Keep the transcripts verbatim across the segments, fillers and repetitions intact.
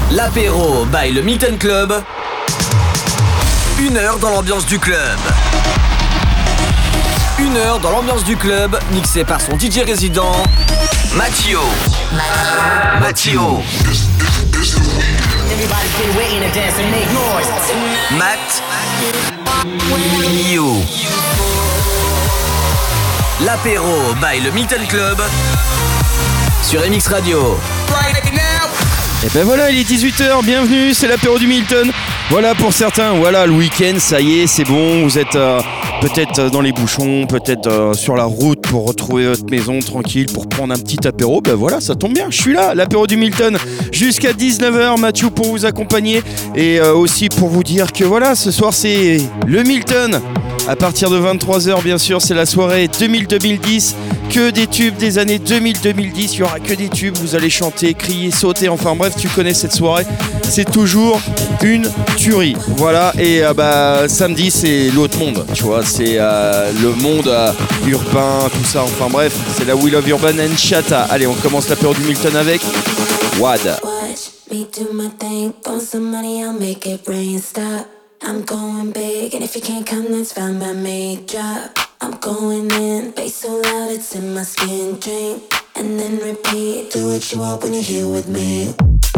L'apéro by le Milton Club. Une heure dans l'ambiance du club. Une heure dans l'ambiance du club, mixé par son D J résident, Mattio. Mattio. Matt. You. L'apéro by le Milton Club sur M X Radio. Et ben voilà, il est dix-huit heures, bienvenue, c'est l'apéro du Milton. Voilà pour certains, voilà le week-end, ça y est, c'est bon, vous êtes euh, peut-être dans les bouchons, peut-être euh, sur la route pour retrouver votre maison tranquille, pour prendre un petit apéro. Ben voilà, ça tombe bien, je suis là, l'apéro du Milton, jusqu'à dix-neuf heures, Mathieu pour vous accompagner et euh, aussi pour vous dire que voilà, ce soir c'est le Milton. À partir de vingt-trois heures, bien sûr, c'est la soirée deux mille deux mille dix. Que des tubes des années deux mille deux mille dix. Il y aura que des tubes. Vous allez chanter, crier, sauter. Enfin bref, tu connais cette soirée. C'est toujours une tuerie. Voilà. Et euh, bah, samedi, c'est l'autre monde. Tu vois, c'est euh, le monde euh, urbain, tout ça. Enfin bref, c'est la We Love Urban and Chata. Allez, on commence l'apéro du Milton avec Wad. Me do my thing, want some money, I'll make it rain, stop. I'm going big, and if you can't come, that's fine by me. Drop, I'm going in, bass so loud it's in my skin. Drink, and then repeat, do what you want when you're here with me.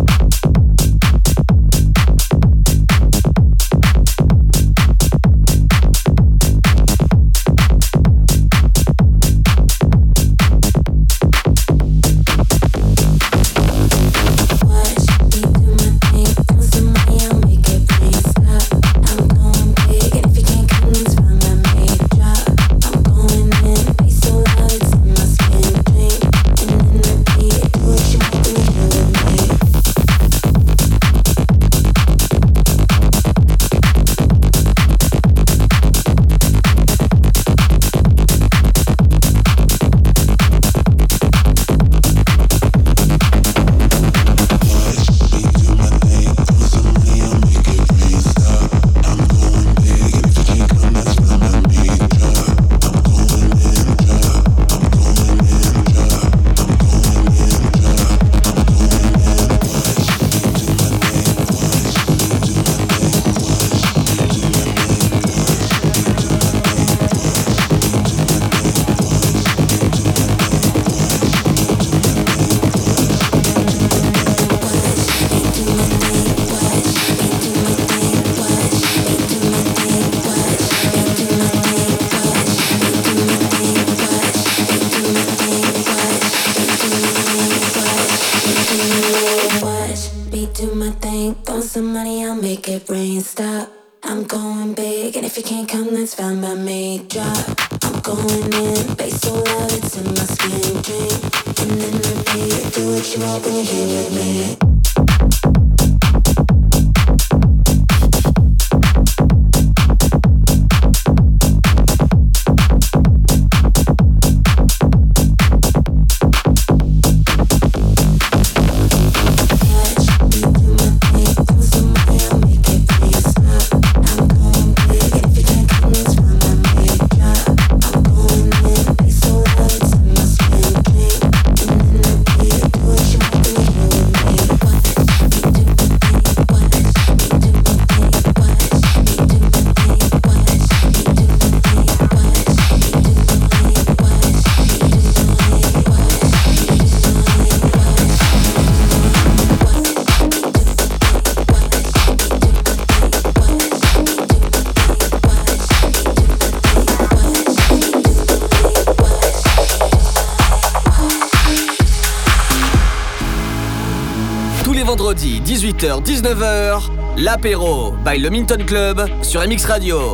dix-huit heures dix-neuf heures, l'apéro by le Milton Club sur M X Radio.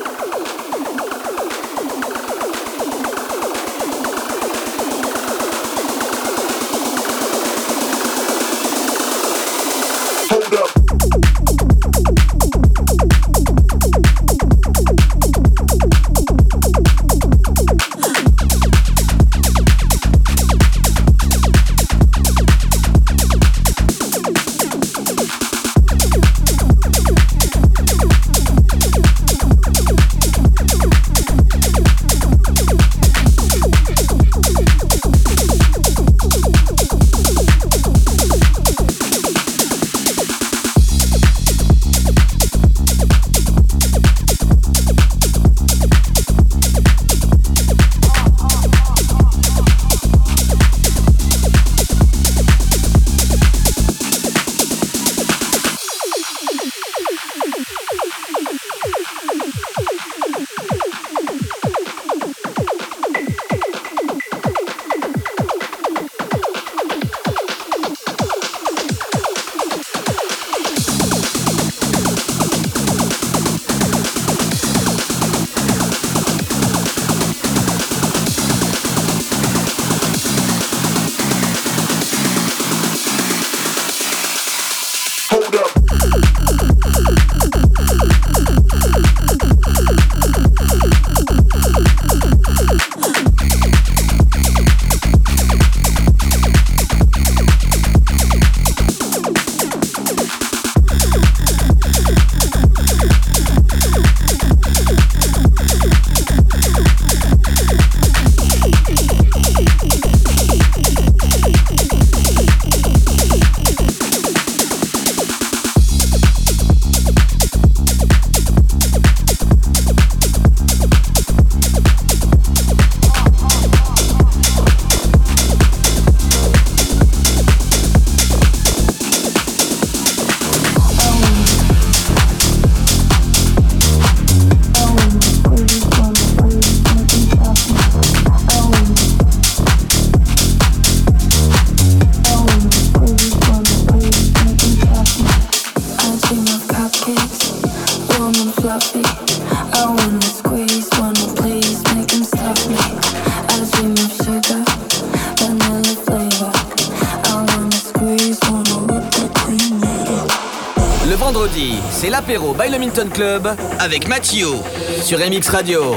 cupcakes, warm and fluffy. I wanna squeeze, wanna please, make him stuff me. I dream of sugar, vanilla flavor. I wanna squeeze, wanna whip that cream later. Le vendredi, c'est l'apéro by le Milton Club avec Mathieu sur M X Radio.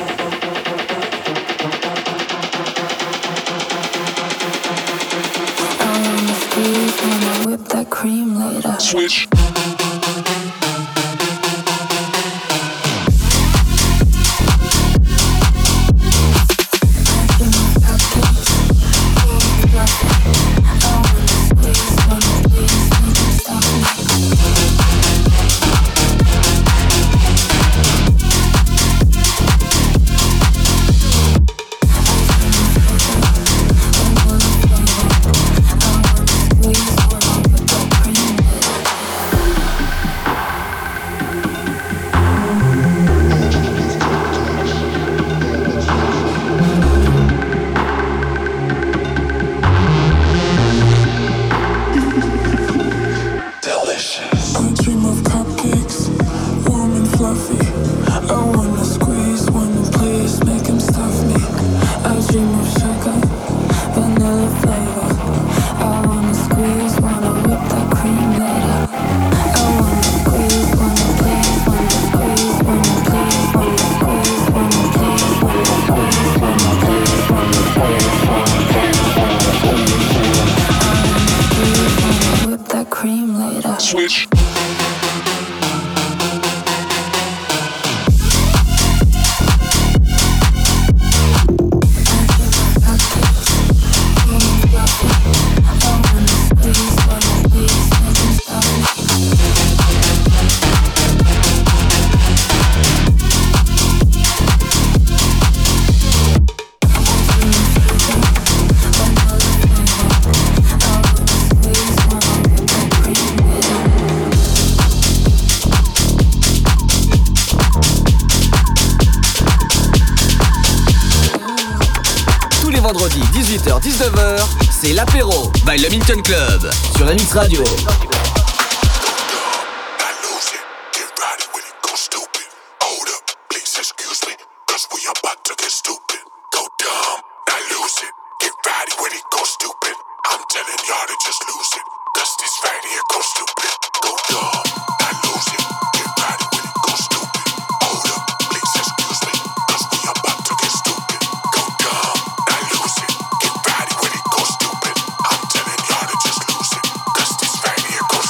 Whip that cream later. Switch. Switch. Vendredi dix-huit heures dix-neuf heures, c'est l'apéro by le Milton Club sur M X Radio. Cause this right here goes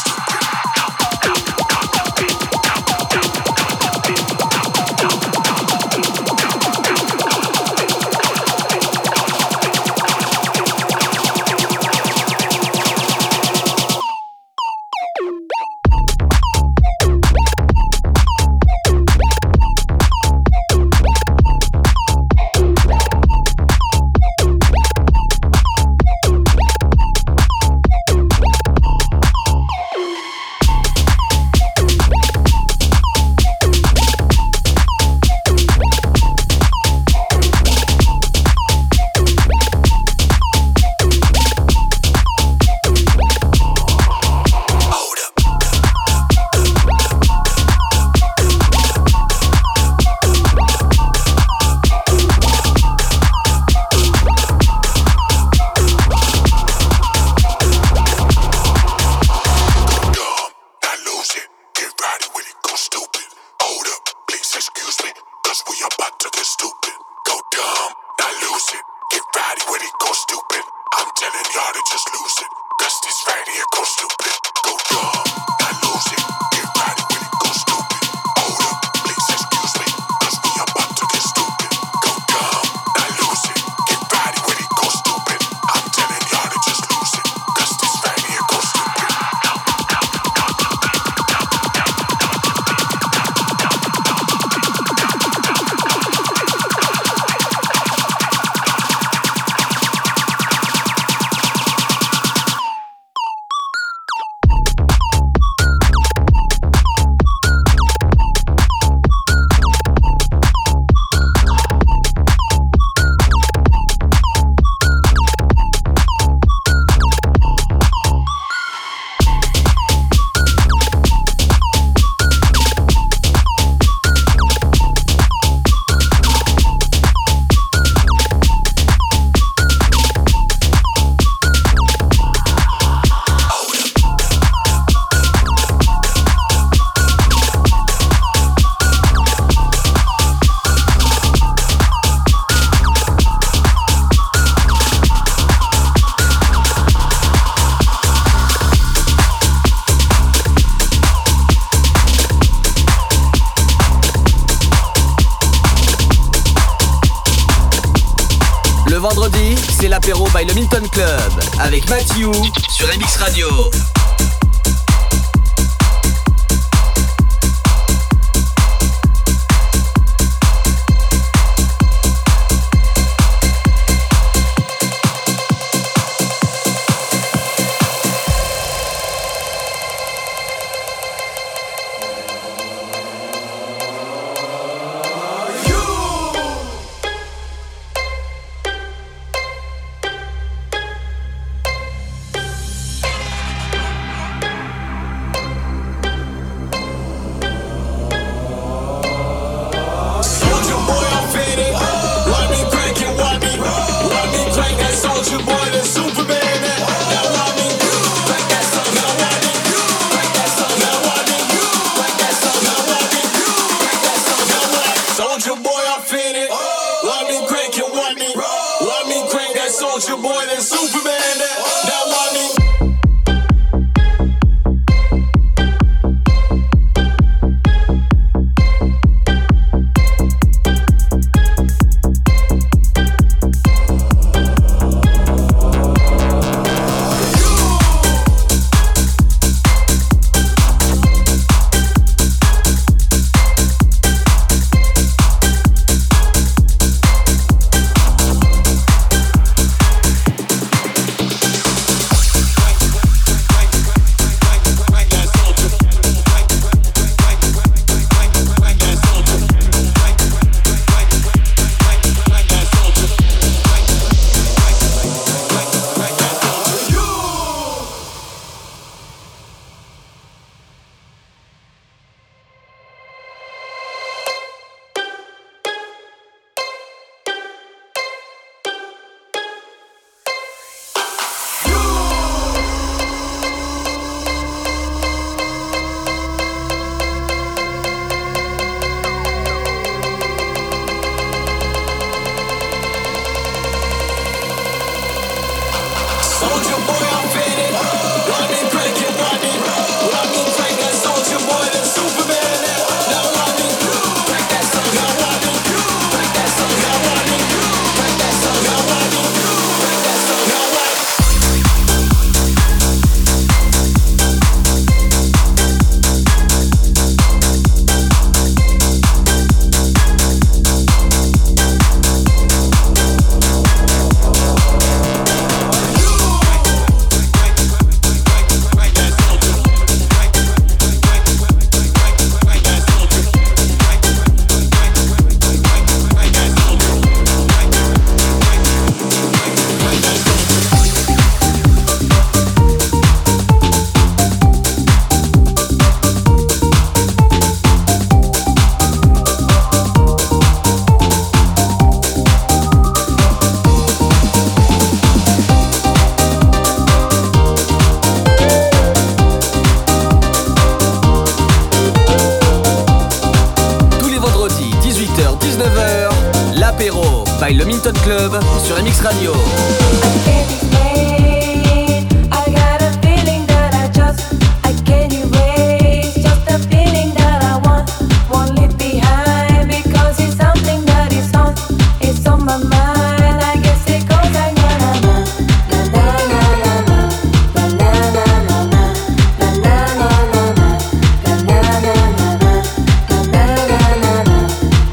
Le vendredi, c'est l'apéro by le Milton Club avec Mathieu sur M X Radio. Le Milton Club sur M X Radio.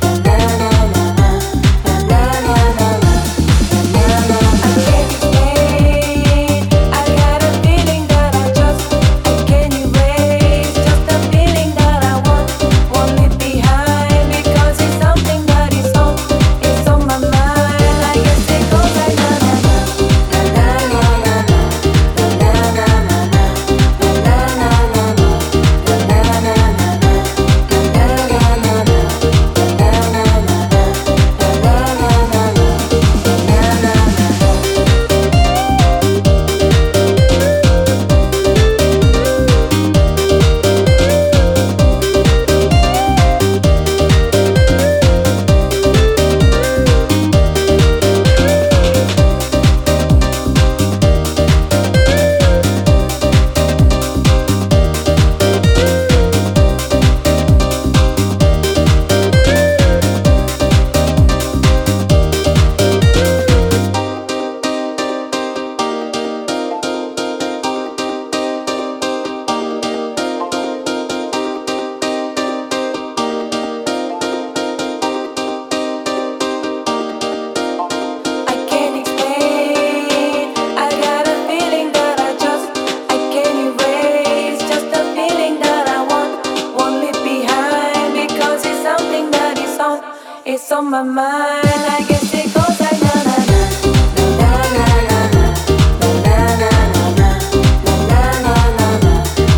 I it's on my mind. I guess it goes like na na na na na na na na na na na na na na.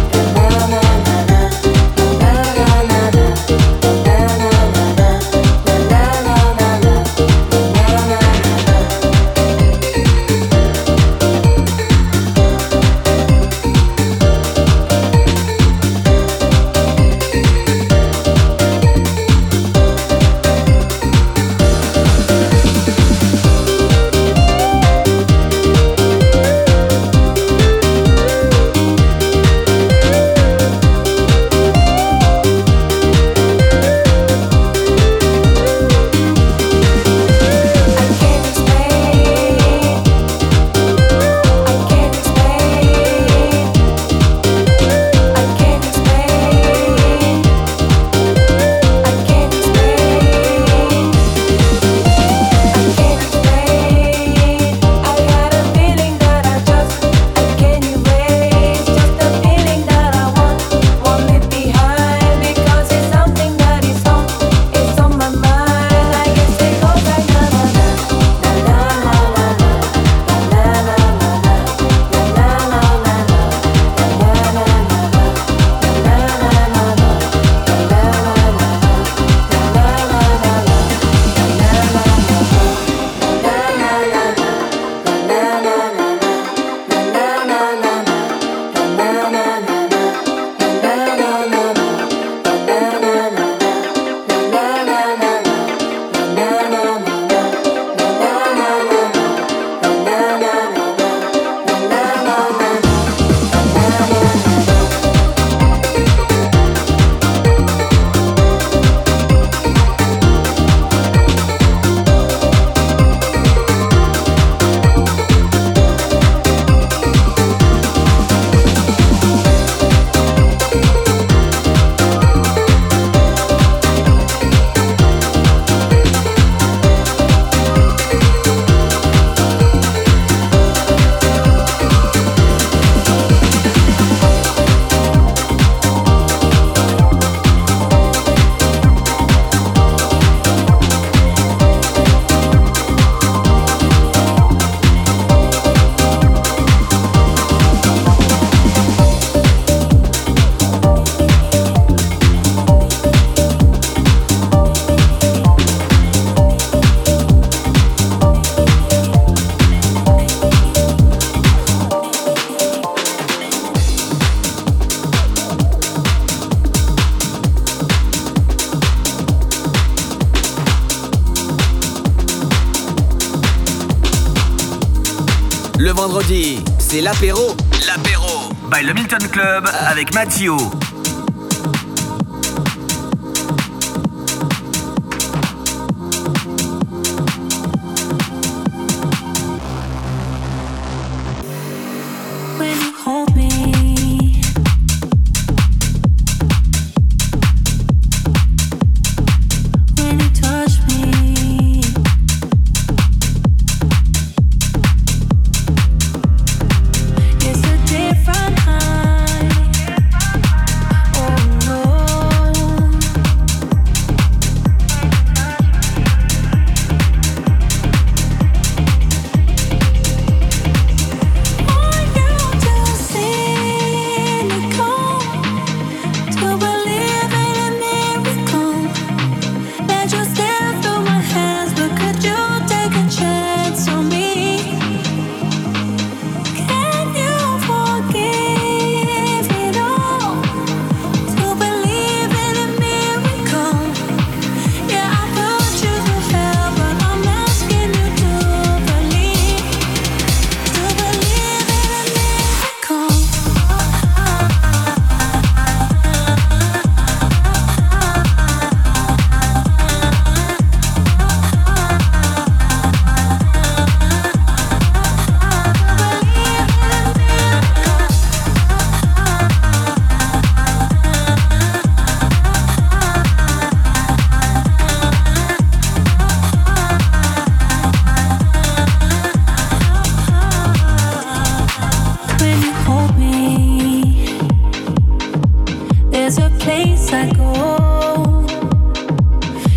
Le vendredi, c'est l'apéro. L'apéro by le Milton Club avec Mathieu.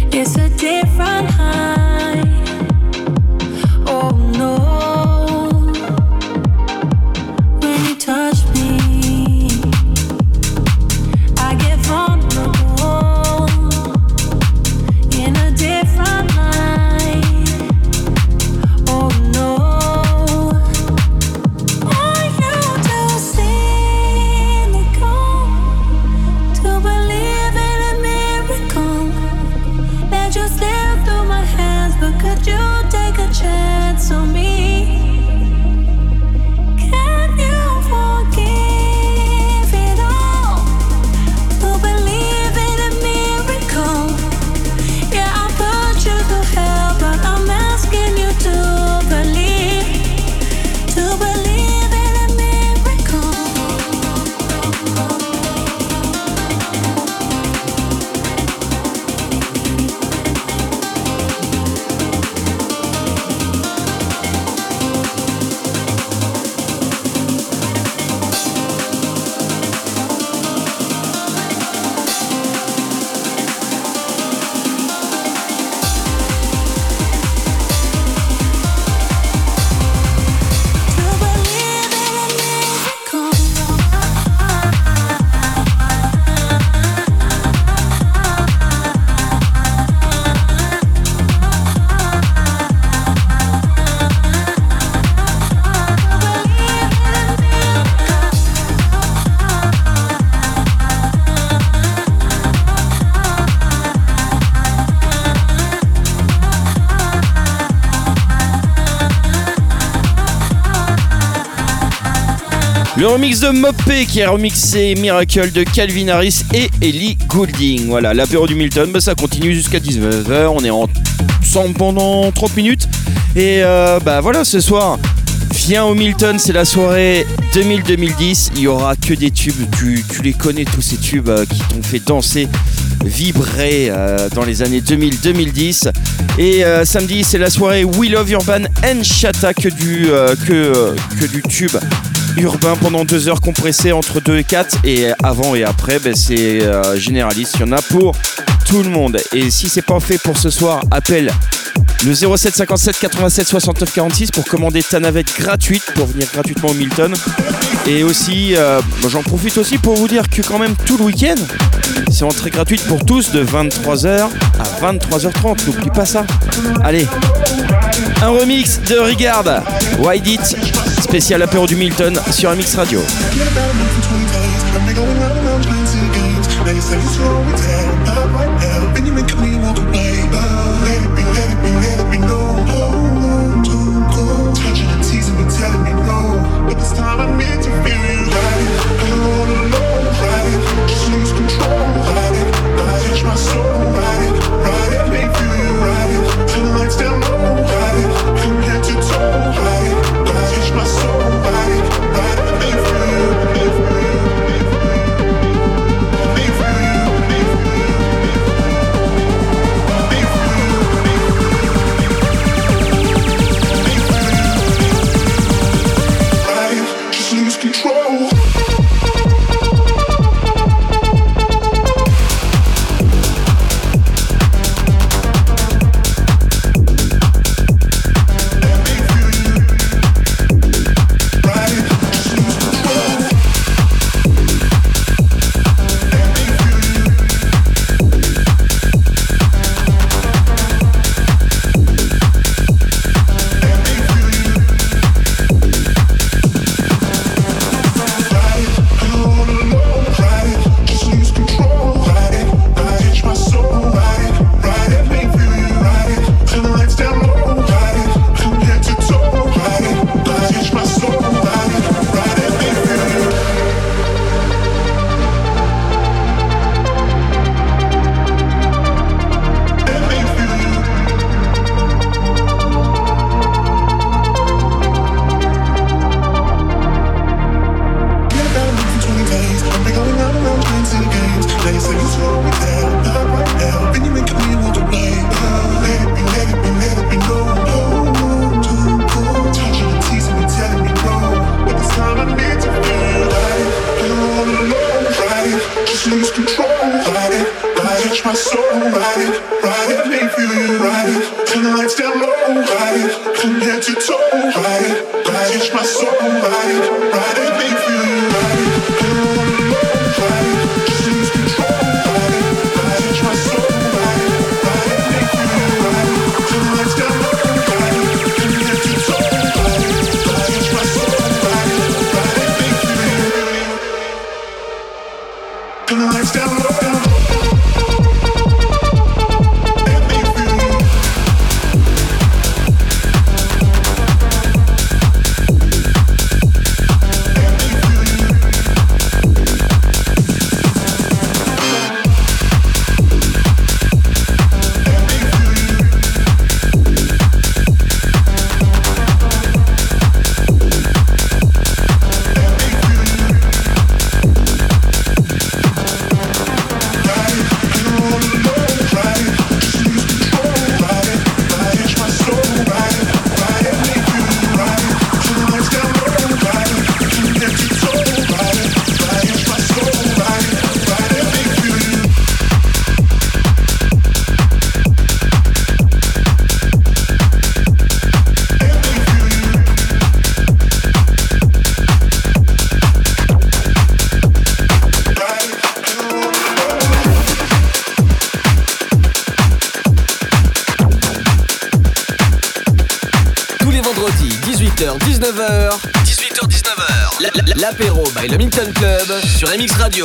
It's a different high. Oh no. When you touch me, I get vulnerable in a different light. Oh no. Are you too cynical to believe in a miracle that just slipped through my hands? But could you take a chance on me? Can you forgive it all to believe in a miracle? Yeah, I'll put you to hell, but I'm asking you to believe, to believe in a miracle. Le remix de Mopé qui a remixé Miracle de Calvin Harris et Ellie Goulding. Voilà, l'apéro du Milton, bah ça continue jusqu'à dix-neuf heures. On est ensemble pendant trente minutes. Et euh, bah voilà, ce soir, viens au Milton, c'est la soirée deux mille deux mille dix. Il y aura que des tubes, tu, tu les connais tous ces tubes euh, qui t'ont fait danser, vibrer euh, dans les années deux mille deux mille dix. Et euh, samedi, c'est la soirée We Love Urban and Chata, que du, euh, que, euh, que du tube urbain pendant deux heures compressées entre deux et quatre. Et avant et après, ben, c'est euh, généraliste, il y en a pour tout le monde. Et si c'est pas fait pour ce soir, appelle le zéro sept cinquante-sept quatre-vingt-sept soixante-neuf quarante-six pour commander ta navette gratuite pour venir gratuitement au Milton. Et aussi, euh, j'en profite aussi pour vous dire que quand même tout le week-end, c'est entrée gratuite pour tous de vingt-trois heures à vingt-trois heures trente. N'oublie pas ça. Allez, un remix de Regard, Why It, spécial apéro du Milton sur M X Radio. Be free. touch my soul, ride it, ride it, make me feel you, ride it. Turn the lights down low, ride it, from head to toe, ride it, ride it, touch my soul, ride it, ride it, make me feel you, ride it. Turn it on low, ride it, just lose control, ride it, ride it, touch my soul, ride it, ride it, make me feel you, ride it. Turn the lights down low, ride it, from head to toe, ride it, ride it, touch my soul, ride it, ride it, make me feel you. Turn the lights down low, down low. dix-neuf heures, dix-huit heures dix-neuf heures, l'apéro by le Milton Club sur M X Radio.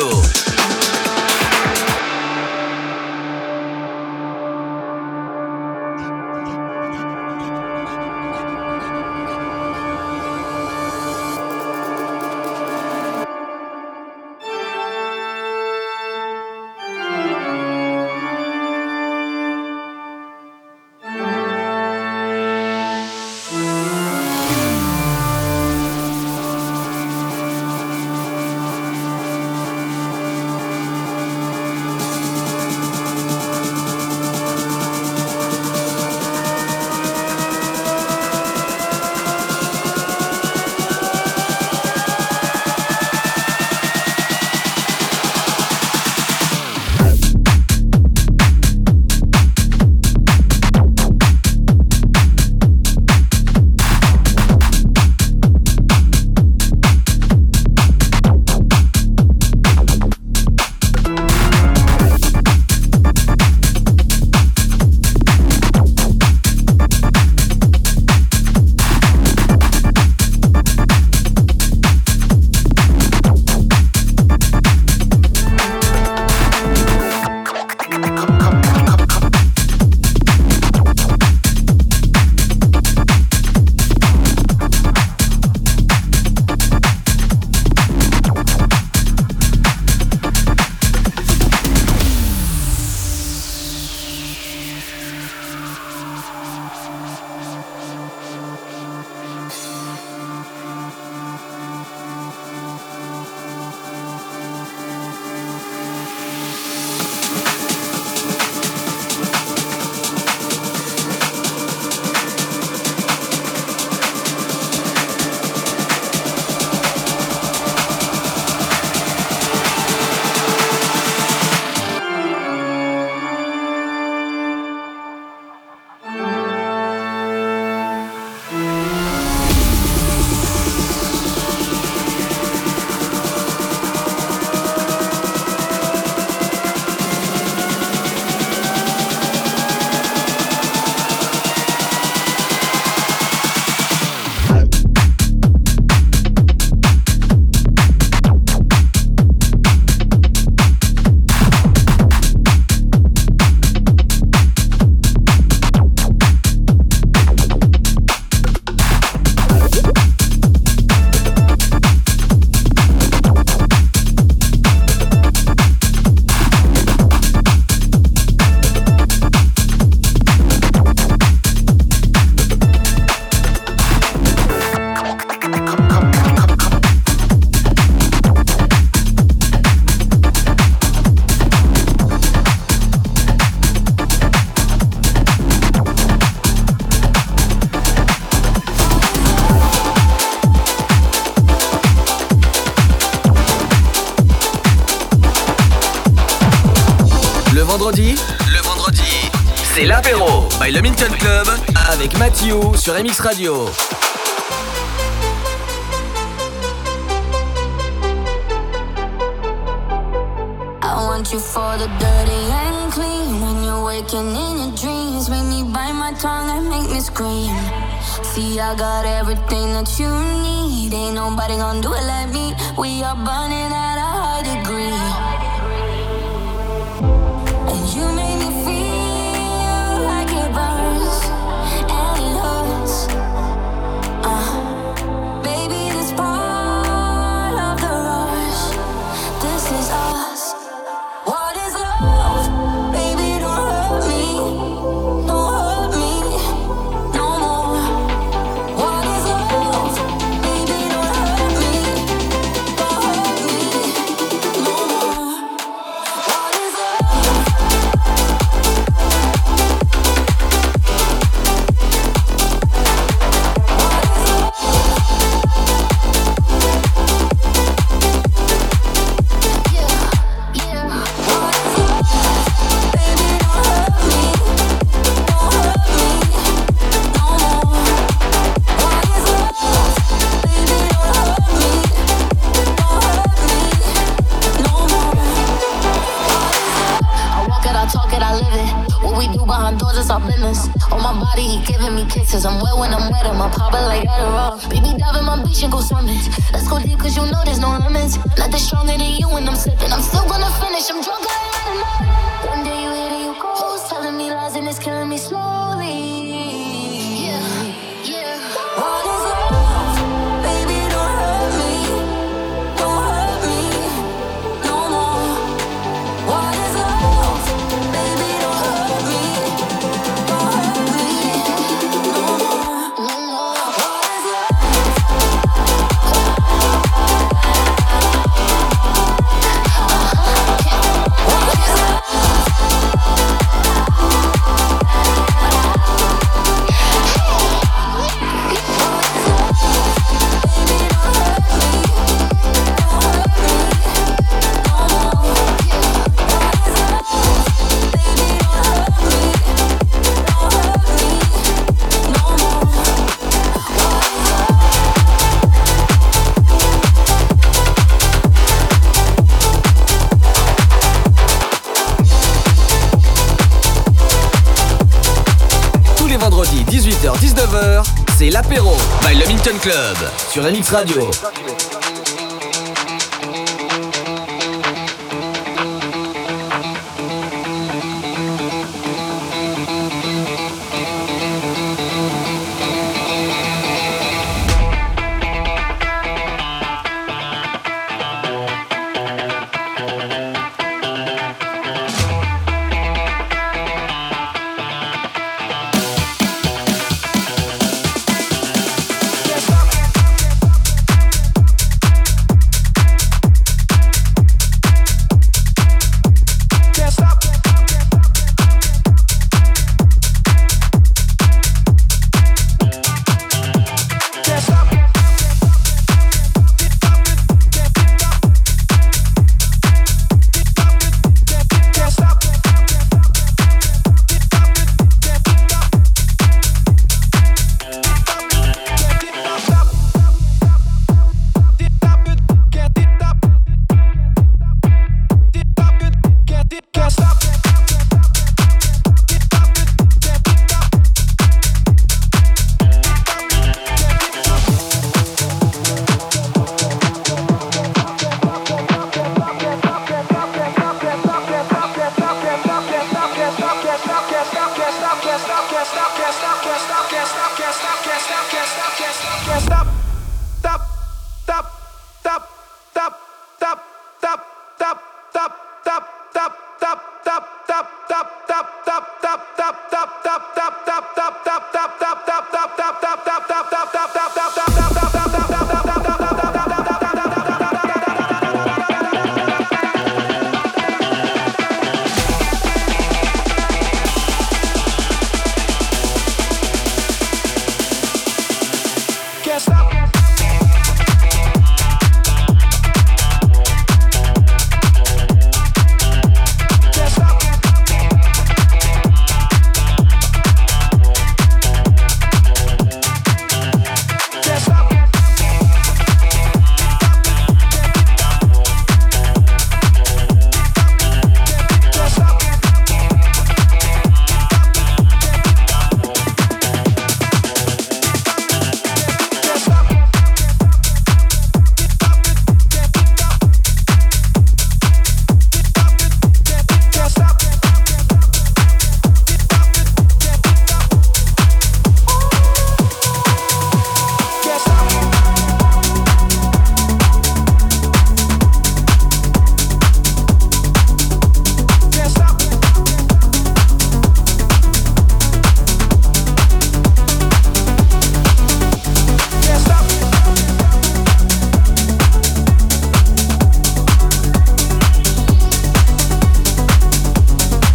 vendredi, le vendredi, c'est l'apéro by le Milton Club avec Mathieu sur M X Radio. I want you for the dirty and clean. When you're waking in your dreams, make me bite my tongue and make me scream. See, I got everything that you need. Ain't nobody gonna do it like me. We are burning at a high degree. And you make me feel like it burns and it hurts. Uh, baby, this part of the rush. This is us. What is love? Baby, don't hurt me. Don't hurt me no more. What is love? Baby, don't hurt me. Don't hurt me no more. What is love? Kisses, I'm wet when I'm wet, I'm a popper like Adderall. Baby, dive in my beach and go swimming. Let's go deep, cause you know there's no limits. Nothing stronger than you when I'm slipping. I'm still gonna finish, I'm drunk, I ain't had enough. One day you hit and you go. Who's telling me lies and it's killing me slowly? Yeah, yeah. What is love? Baby, don't hurt me. Don't hurt me no more. What is love? Baby, don't hurt me. Don't hurt me no more. What is love? dix-huit heures dix-neuf heures, c'est l'apéro by le Milton Club sur M X Radio.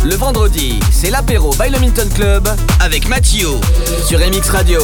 Le vendredi, c'est l'apéro by le Minton Club avec Mathieu sur M X Radio.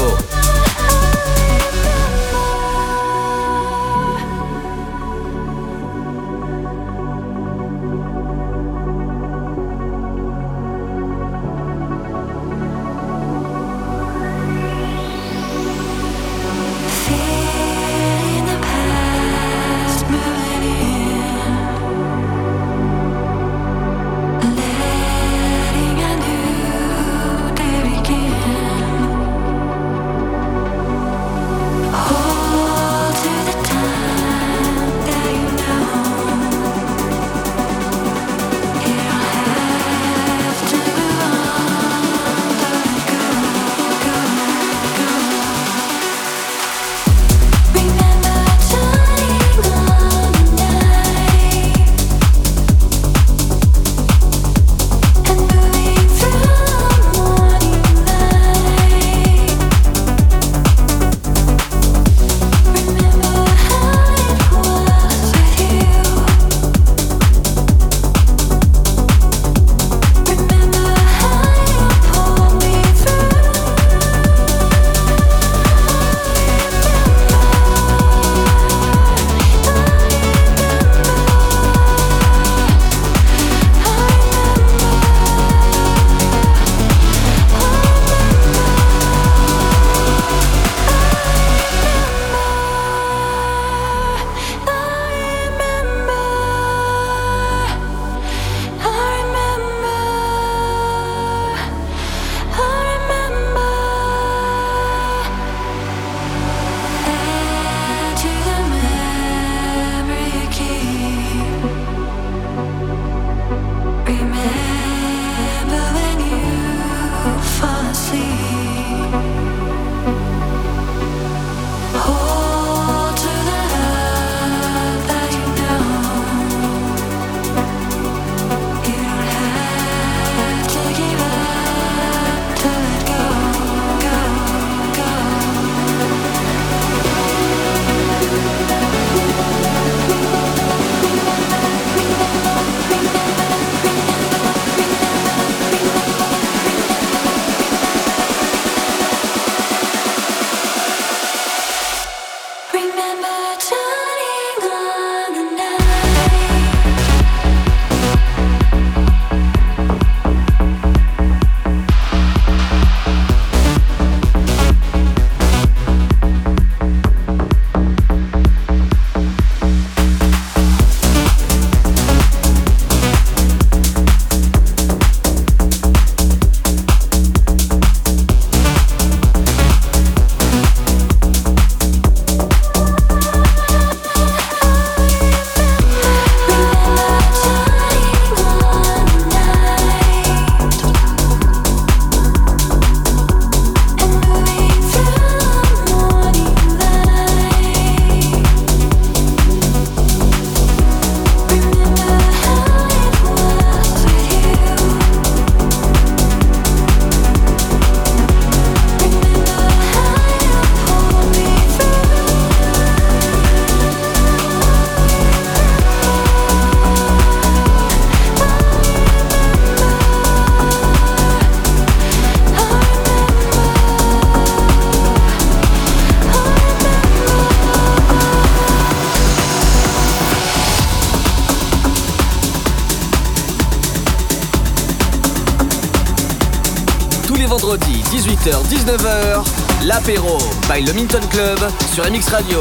Vendredi dix-huit heures dix-neuf heures, l'apéro by le Minton Club sur M X Radio.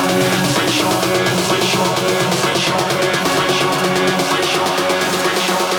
Show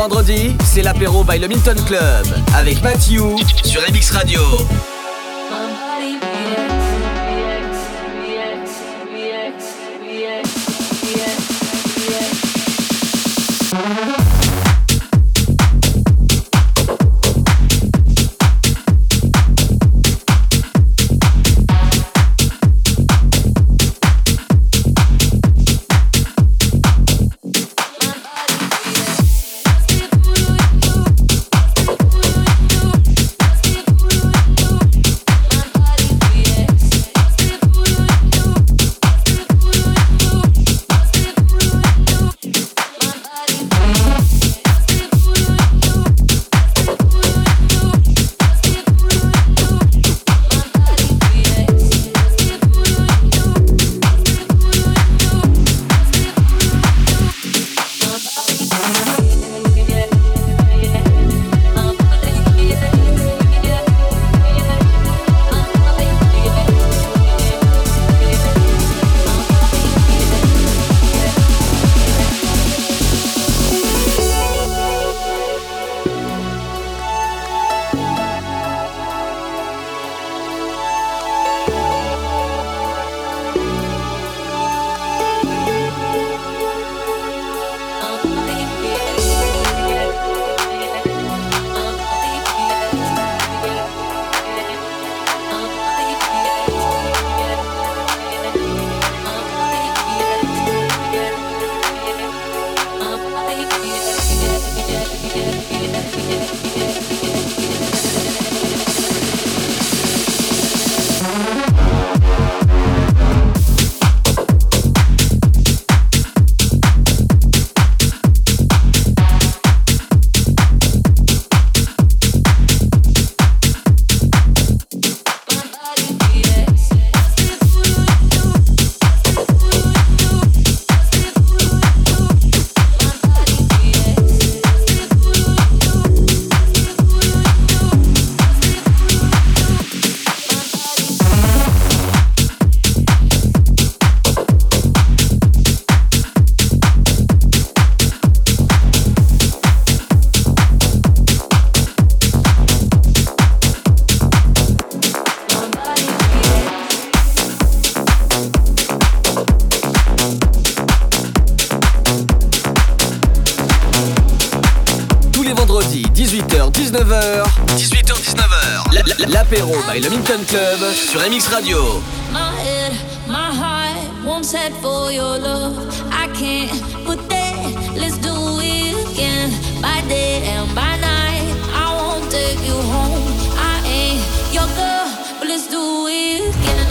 vendredi, c'est l'apéro by le Milton Club avec Mathieu sur M X Radio. dix-huit heures dix-neuf heures dix-huit heures dix-neuf heures L'apéro by le Milton Club sur M X Radio. My head, my heart won't set for your love. I can't put that, let's do it again. By day and by night, I won't take you home. I ain't your girl, but let's do it again.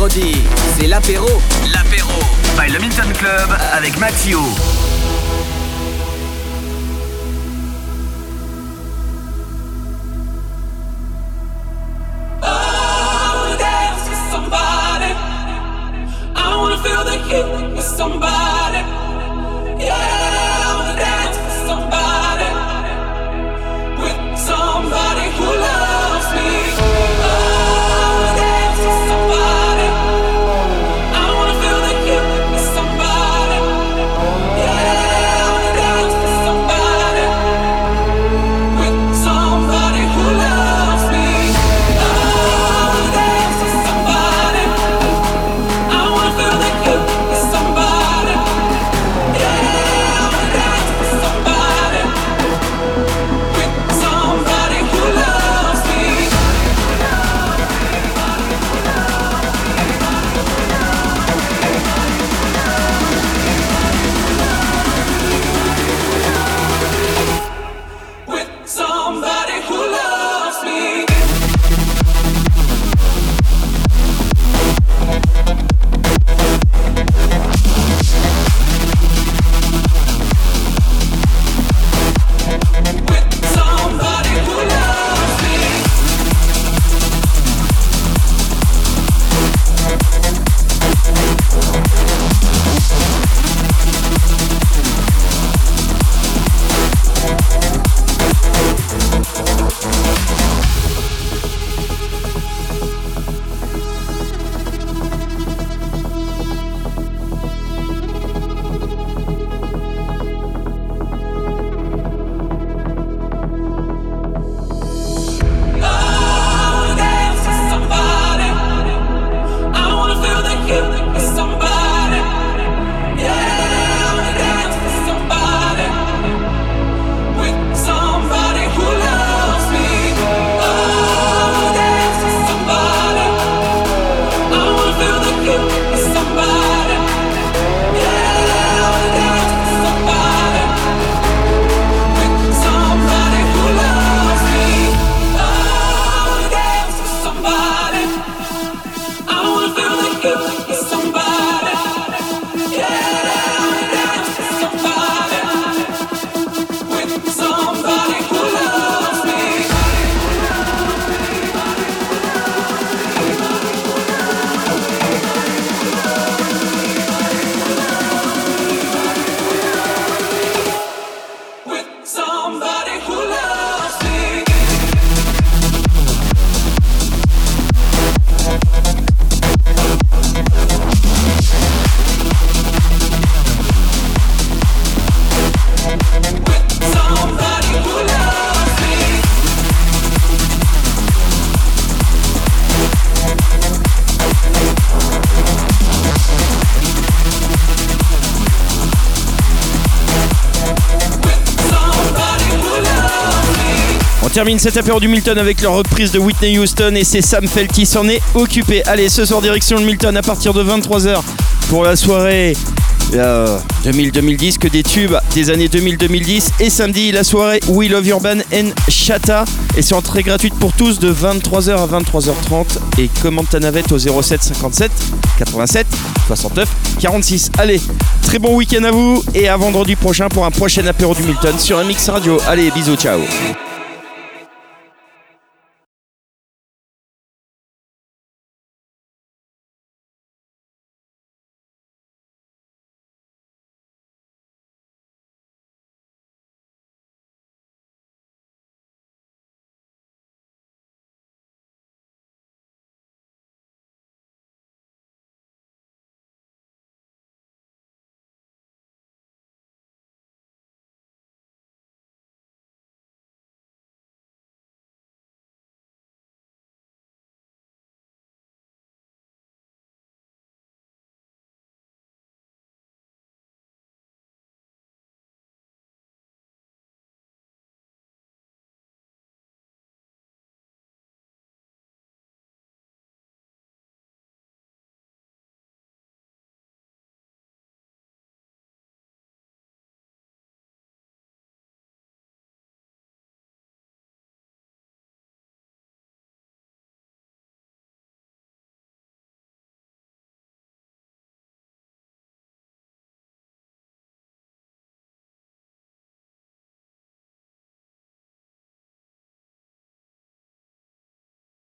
vendredis, c'est l'apéro. L'apéro by le Milton Club avec Mathieu. Somebody, yeah, I wanna dance with somebody, with somebody who loves me. Oh, I wanna dance with somebody. I wanna feel the heat with somebody. Yeah, I wanna dance with somebody, with somebody who loves me. Oh, I wanna dance with somebody. I wanna feel the heat with somebody. Termine cet apéro du Milton avec leur reprise de Whitney Houston et c'est Sam Feld qui s'en est occupé. Allez, ce soir direction le Milton à partir de vingt-trois heures pour la soirée euh, deux mille deux mille dix, que des tubes des années deux mille deux mille dix. Et samedi, la soirée We Love Urban and Chata. Et c'est entrée gratuite pour tous de vingt-trois heures à vingt-trois heures trente. Et commande ta navette au zéro sept cinquante-sept quatre-vingt-sept soixante-neuf quarante-six. Allez, très bon week-end à vous et à vendredi prochain pour un prochain apéro du Milton sur M X Radio. Allez, bisous, ciao.